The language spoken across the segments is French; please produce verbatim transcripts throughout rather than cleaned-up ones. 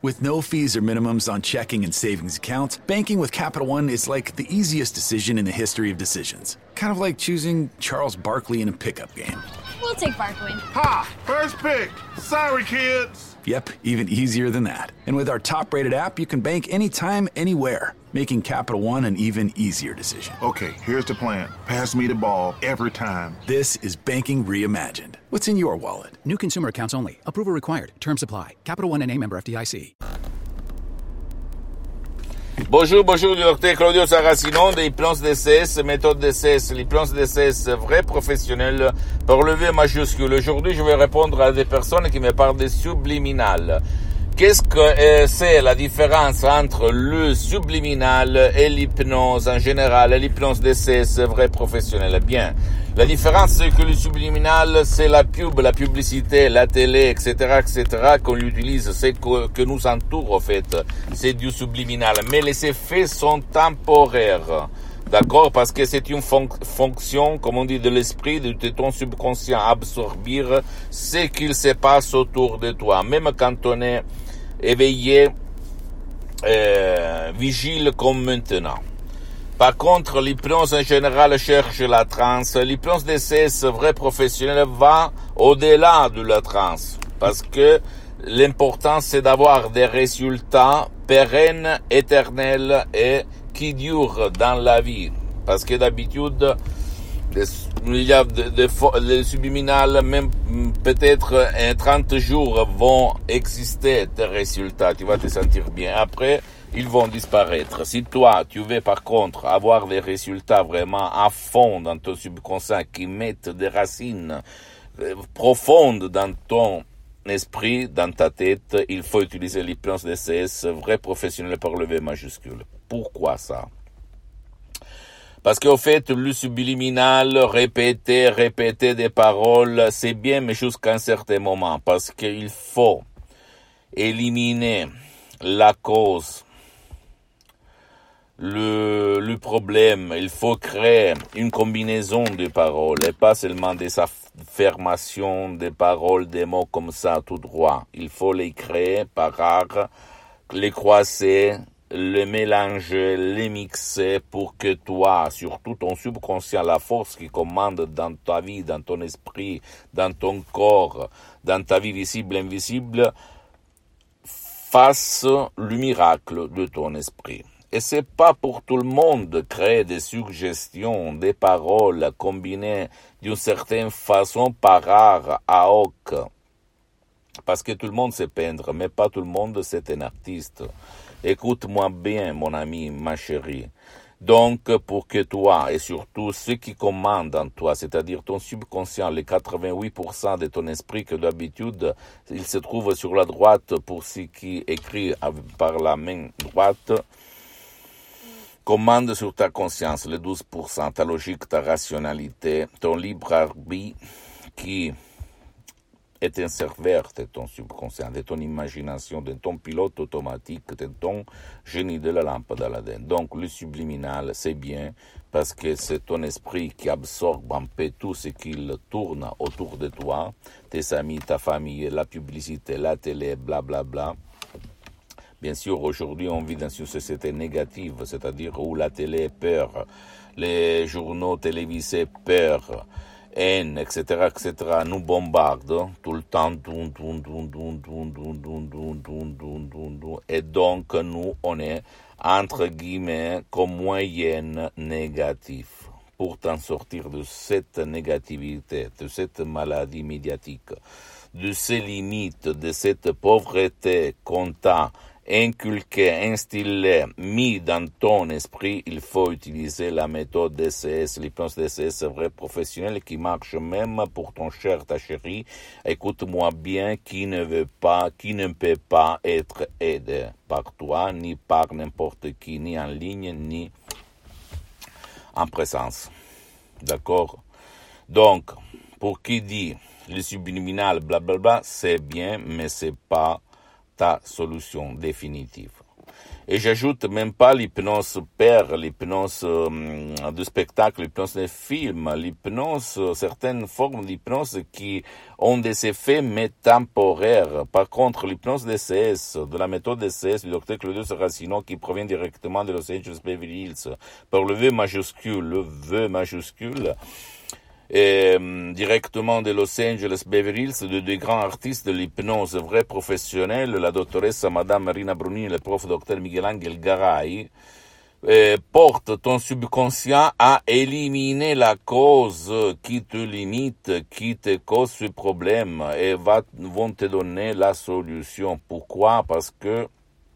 With no fees or minimums on checking and savings accounts, banking with Capital One is like the easiest decision in the history of decisions. Kind of like choosing Charles Barkley in a pickup game. We'll take Barkley. Ha! First pick. Sorry, kids. Yep, even easier than that. And with our top-rated app, you can bank anytime, anywhere, making Capital One an even easier decision. Okay, here's the plan. Pass me the ball every time. This is banking reimagined. What's in your wallet? New consumer accounts only. Approval required. Terms apply. Capital One N A member F D I C. Bonjour, bonjour, du docteur Claudio Saracino de Hypnose D C S, méthode D C S, l'hypnose D C S, vrai professionnel, par le V majuscule. Aujourd'hui, je vais répondre à des personnes qui me parlent de subliminal. Qu'est-ce que euh, c'est la différence entre le subliminal et l'hypnose en général, et l'hypnose D C S, vrai professionnel? Bien, la différence c'est que le subliminal, c'est la pub, la publicité, la télé, et cetera, et cetera, qu'on utilise, c'est que, que nous entoure, en fait. C'est du subliminal. Mais les effets sont temporaires. D'accord? Parce que c'est une fon- fonction, comme on dit, de l'esprit, de ton subconscient, absorber ce qu'il se passe autour de toi. Même quand on est éveillé, euh, vigile comme maintenant. Par contre, l'hypnose en général cherche la transe. L'hypnose D C S vrai professionnel va au-delà de la transe. Parce que l'important c'est d'avoir des résultats pérennes, éternels et qui durent dans la vie. Parce que d'habitude, il y a des de, de, de subliminales, même peut-être en trente jours vont exister tes résultats. Tu vas te sentir bien. Après, ils vont disparaître. Si toi, tu veux par contre avoir des résultats vraiment à fond dans ton subconscient qui mettent des racines profondes dans ton esprit, dans ta tête, il faut utiliser l'hypnose D C S vrai professionnel par le V majuscule. Pourquoi ça? Parce qu'au fait, le subliminal, répéter, répéter des paroles, c'est bien, mais jusqu'à un certain moment. Parce qu'il faut éliminer la cause, le, le problème. Il faut créer une combinaison de paroles et pas seulement des affirmations, des paroles, des mots comme ça, tout droit. Il faut les créer par art, les croiser, les mélanger, les mixer pour que toi, surtout ton subconscient, la force qui commande dans ta vie, dans ton esprit, dans ton corps, dans ta vie visible, invisible, fasse le miracle de ton esprit. Et c'est pas pour tout le monde de créer des suggestions, des paroles combinées d'une certaine façon par art à hoc. Parce que tout le monde sait peindre, mais pas tout le monde c'est un artiste. Écoute-moi bien, mon ami, ma chérie. Donc, pour que toi, et surtout ceux qui commandent en toi, c'est-à-dire ton subconscient, les quatre-vingt-huit pour cent de ton esprit que d'habitude, il se trouve sur la droite pour ceux qui écrivent par la main droite, commande sur ta conscience, les douze pour cent, ta logique, ta rationalité, ton libre arbitre qui est un serveur de ton subconscient, de ton imagination, de ton pilote automatique, de ton génie de la lampe d'Aladin. Donc le subliminal, c'est bien parce que c'est ton esprit qui absorbe un peu tout ce qu'il tourne autour de toi, tes amis, ta famille, la publicité, la télé, blablabla. Bla, bla. Bien sûr, aujourd'hui, on vit dans une société négative, c'est-à-dire où la télé est peur, les journaux télévisés peur, haine, et cetera, et cetera, nous bombardent tout le temps, dun, dun, dun, dun, dun, dun, dun, dun, dun, dun, dun, dun. Et donc, nous, on est, entre guillemets, comme moyenne négatif. Pour t'en sortir de cette négativité, de cette maladie médiatique, de ces limites, de cette pauvreté qu'on t'a inculqué, instillé, mis dans ton esprit, il faut utiliser la méthode D C S, l'hypnose D C S vrai professionnel qui marche même pour ton cher, ta chérie. Écoute-moi bien, qui ne veut pas, qui ne peut pas être aidé par toi, ni par n'importe qui, ni en ligne, ni en présence. D'accord? Donc, pour qui dit le subliminal, blablabla, c'est bien, mais c'est pas ta solution définitive. Et j'ajoute même pas l'hypnose père, l'hypnose euh, de spectacle, l'hypnose de film, l'hypnose, certaines formes d'hypnose qui ont des effets métemporaires. Par contre, l'hypnose D C S, de la méthode D C S du docteur Claudio Saracino qui provient directement de Los Angeles Beverly Hills, par le V majuscule, le V majuscule, et euh, directement de Los Angeles Beverly Hills, de deux grands artistes de l'hypnose vrais professionnels, la doctoresse Madame Marina Brunini et le prof docteur Miguel Angel Garay, euh, porte ton subconscient à éliminer la cause qui te limite, qui te cause ce problème, et va, vont te donner la solution. Pourquoi? Parce que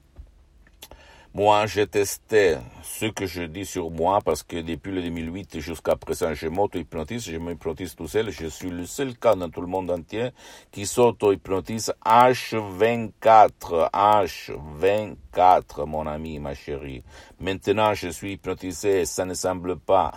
moi, j'ai testé ce que je dis sur moi parce que depuis le deux mille huit jusqu'à présent, je m'auto-hypnotise, je m'hypnotise tout seul. Je suis le seul cas dans tout le monde entier qui s'auto-hypnotise H vingt-quatre, H vingt-quatre, mon ami, ma chérie. Maintenant, je suis hypnotisé et ça ne semble pas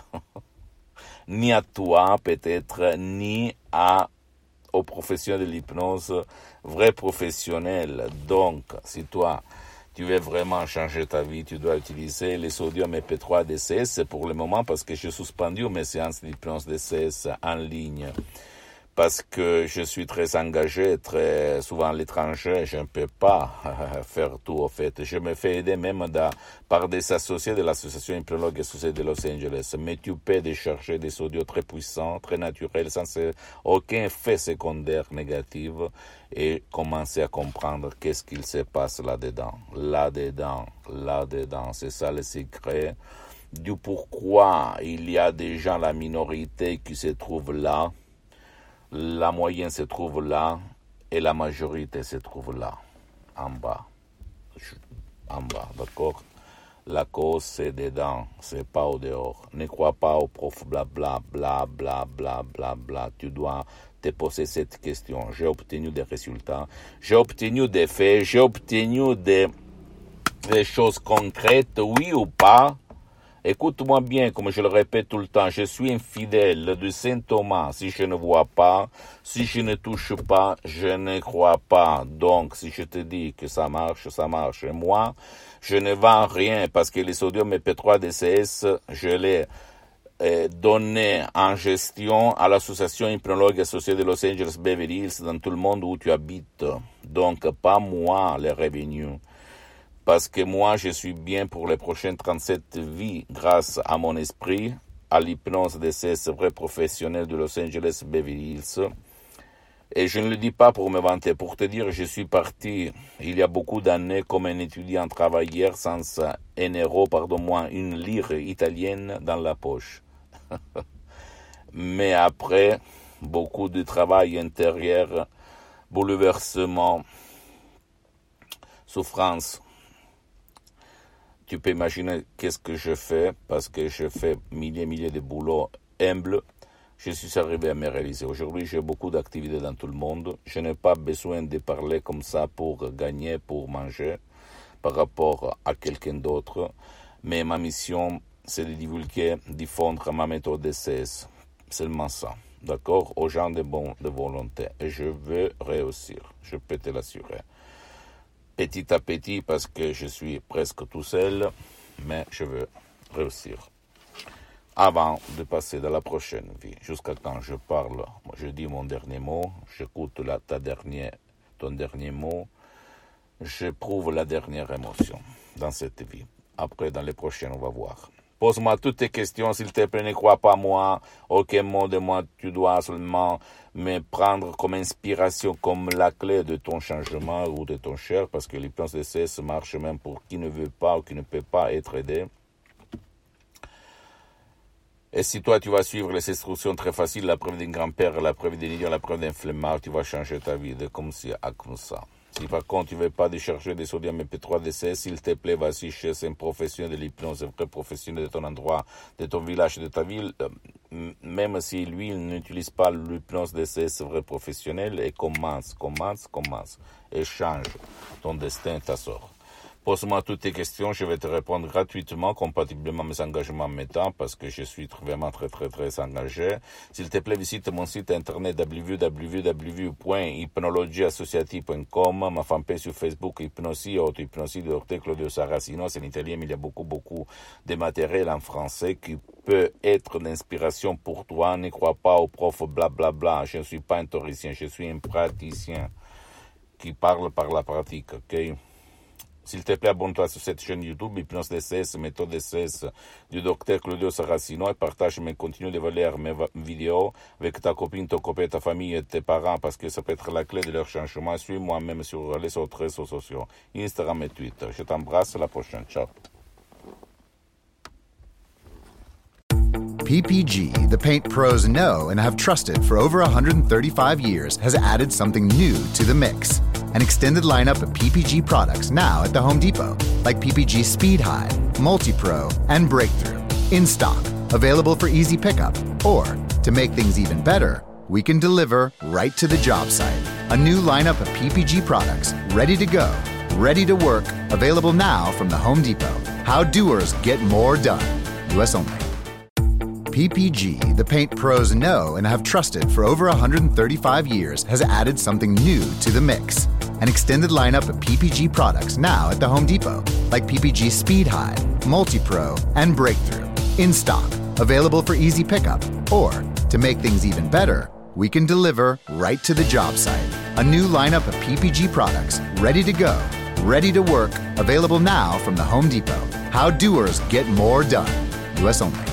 ni à toi, peut-être, ni à aux professionnels de l'hypnose, vrais professionnels. Donc, si toi, tu veux vraiment changer ta vie, tu dois utiliser les sodium M P trois D C S pour le moment parce que j'ai suspendu mes séances d'hypnose D C S en ligne. Parce que je suis très engagé, très souvent à l'étranger, je ne peux pas faire tout au fait. Je me fais aider même da, par des associés de l'association Hypnologue Associée de Los Angeles. Mais tu peux décharger des audios très puissants, très naturels, sans aucun effet secondaire négatif et commencer à comprendre qu'est-ce qu'il se passe là-dedans. Là-dedans, là-dedans, c'est ça le secret du pourquoi il y a des gens, la minorité qui se trouve là. La moyenne se trouve là et la majorité se trouve là, en bas. En bas, d'accord? La cause, c'est dedans, c'est pas au dehors. Ne crois pas au prof blabla, bla, bla, bla, bla, bla. Tu dois te poser cette question. J'ai obtenu des résultats, j'ai obtenu des faits, j'ai obtenu des, des choses concrètes, oui ou pas? Écoute-moi bien, comme je le répète tout le temps, je suis infidèle de Saint Thomas. Si je ne vois pas, si je ne touche pas, je ne crois pas. Donc, si je te dis que ça marche, ça marche. Et moi, je ne vends rien parce que les sodium M P trois D C S, je l'ai eh, donné en gestion à l'association Hypnologue Associée de Los Angeles Beverly Hills dans tout le monde où tu habites. Donc, pas moi, les revenus. Parce que moi, je suis bien pour les prochaines trente-sept vies grâce à mon esprit, à l'hypnose de ces vrais professionnels de Los Angeles Beverly Hills. Et je ne le dis pas pour me vanter, pour te dire, je suis parti il y a beaucoup d'années comme un étudiant travailleur sans un euro, pardon-moi, une lire italienne dans la poche. Mais après, beaucoup de travail intérieur, bouleversement, souffrance. Tu peux imaginer qu'est-ce que je fais, parce que je fais milliers et milliers de boulots humbles. Je suis arrivé à me réaliser. Aujourd'hui, j'ai beaucoup d'activités dans tout le monde. Je n'ai pas besoin de parler comme ça pour gagner, pour manger, par rapport à quelqu'un d'autre. Mais ma mission, c'est de divulguer, diffondre ma méthode D C S. Seulement ça. D'accord? Aux gens de bonne de volonté. Et je veux réussir. Je peux te l'assurer. Petit à petit, parce que je suis presque tout seul, mais je veux réussir. Avant de passer dans la prochaine vie, jusqu'à quand je parle, je dis mon dernier mot, j'écoute la, ta dernière, ton dernier mot, j'éprouve la dernière émotion dans cette vie. Après, dans les prochaines, on va voir. Pose-moi toutes tes questions, s'il te plaît, ne crois pas moi, aucun mot de moi, tu dois seulement me prendre comme inspiration, comme la clé de ton changement ou de ton cher, parce que l'hypnose D C S marche même pour qui ne veut pas ou qui ne peut pas être aidé. Et si toi, tu vas suivre les instructions très faciles, la preuve d'un grand-père, la preuve d'un idiot, la preuve d'un flemmard, tu vas changer ta vie de comme si à comme ça. Si par contre tu ne veux pas décharger des sodium M P trois D C S, s'il te plaît, vas-y chez un professionnel de l'hypnose, un vrai professionnel de ton endroit, de ton village, de ta ville, euh, même si lui il n'utilise pas l'hypnose D C S vrai professionnel, et commence, commence, commence, et change ton destin, ta sort. Pose-moi toutes tes questions, je vais te répondre gratuitement, compatiblement à mes engagements en mes temps, parce que je suis vraiment très très très engagé. S'il te plaît, visite mon site internet w w w point hypnologie associative point com, ma fanpage sur Facebook Hypnosie, auto-hypnosie de Docteur Claudio Saracino, c'est en italien, mais il y a beaucoup beaucoup de matériel en français qui peut être d'inspiration pour toi. Ne crois pas aux profs blablabla, bla, bla. Je ne suis pas un théoricien, je suis un praticien qui parle par la pratique, ok? S'il te plaît, abonne-toi sur cette chaîne YouTube, Hypnose D C S, méthode D C S du docteur Claudio Saracino, et partage mes contenus de valeur, mes vidéos avec ta copine, ton copain, ta famille et tes parents, parce que ça peut être la clé de leur changement. Suis-moi même sur les autres réseaux sociaux, Instagram et Twitter. Je t'embrasse, à la prochaine. Ciao. P P G, the paint pros know and have trusted for over one hundred thirty-five years, has added something new to the mix. An extended lineup of P P G products now at the Home Depot, like P P G Speed High, Multi-Pro, and Breakthrough. In stock, available for easy pickup. Or, to make things even better, we can deliver right to the job site. A new lineup of P P G products, ready to go, ready to work, available now from the Home Depot. How doers get more done. U S only. P P G, the paint pros know and have trusted for over one hundred thirty-five years, has added something new to the mix. An extended lineup of P P G products now at the Home Depot, like P P G Speed High, Multi-Pro, and Breakthrough. In stock, available for easy pickup. Or, to make things even better, we can deliver right to the job site. A new lineup of P P G products, ready to go, ready to work, available now from the Home Depot. How doers get more done. U S only.